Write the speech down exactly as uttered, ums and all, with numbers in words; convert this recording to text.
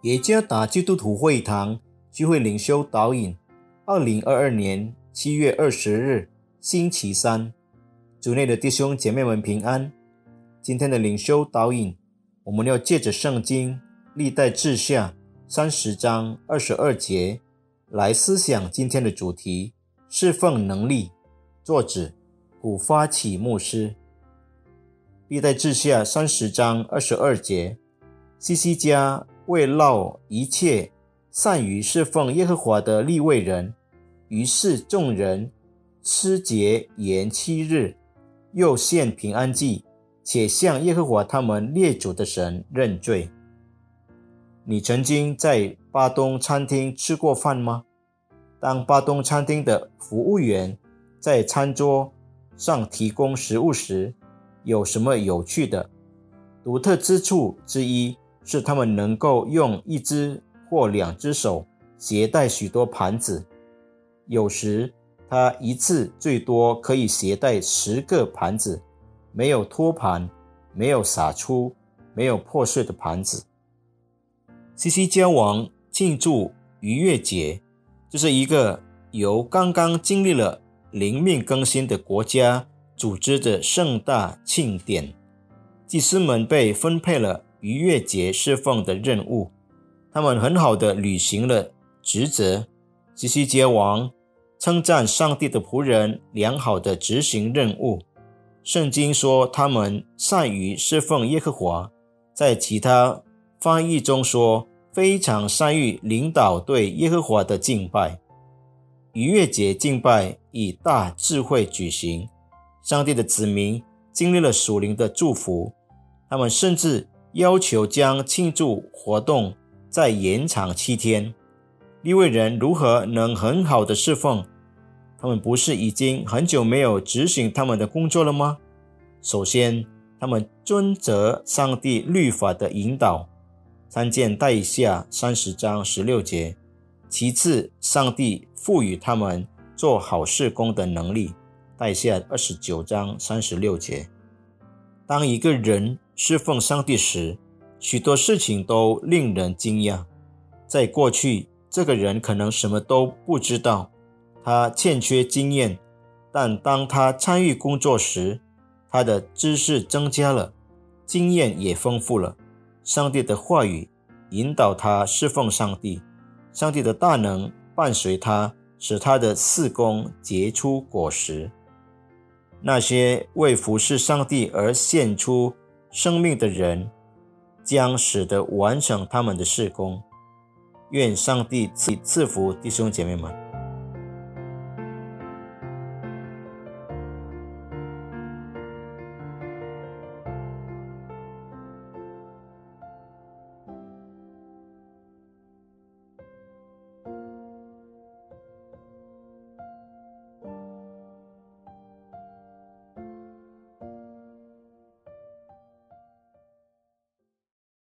耶加达基督徒会堂聚会灵修导引，二零二二年七月二十日，星期三。主内的弟兄姐妹们平安。今天的灵修导引，我们要借着圣经历代志下三十章二十二节来思想今天的主题：侍奉能力。作者古发起牧师。历代志下三十章二十二节，希西家为烙一切善于侍奉耶和华的利未人，于是众人吃节延七日，又献平安祭，且向耶和华他们列祖的神认罪。你曾经在巴东餐厅吃过饭吗？当巴东餐厅的服务员在餐桌上提供食物时，有什么有趣的？独特之处之一是他们能够用一只或两只手携带许多盘子，有时他一次最多可以携带十个盘子，没有托盘，没有洒出，没有破碎的盘子。希西家王庆祝逾越节，这是一个由刚刚经历了灵命更新的国家组织的盛大庆典。祭司们被分配了逾越节侍奉的任务，他们很好地履行了职责。希西家王称赞上帝的仆人良好地执行任务。圣经说他们善于侍奉耶和华，在其他翻译中说非常善于领导对耶和华的敬拜。逾越节敬拜以大智慧举行，上帝的子民经历了属灵的祝福，他们甚至要求将庆祝活动再延长七天。利未人如何能很好的侍奉？他们不是已经很久没有执行他们的工作了吗？首先，他们遵责上帝律法的引导，参见带下三十章十六节。其次，上帝赋予他们做好事工的能力，带下二十九章三十六节。当一个人侍奉上帝时，许多事情都令人惊讶。在过去，这个人可能什么都不知道，他欠缺经验，但当他参与工作时，他的知识增加了，经验也丰富了。上帝的话语引导他侍奉上帝，上帝的大能伴随他，使他的事工结出果实。那些为服侍上帝而献出生命的人，将使得完成他们的事工。愿上帝赐福弟兄姐妹们。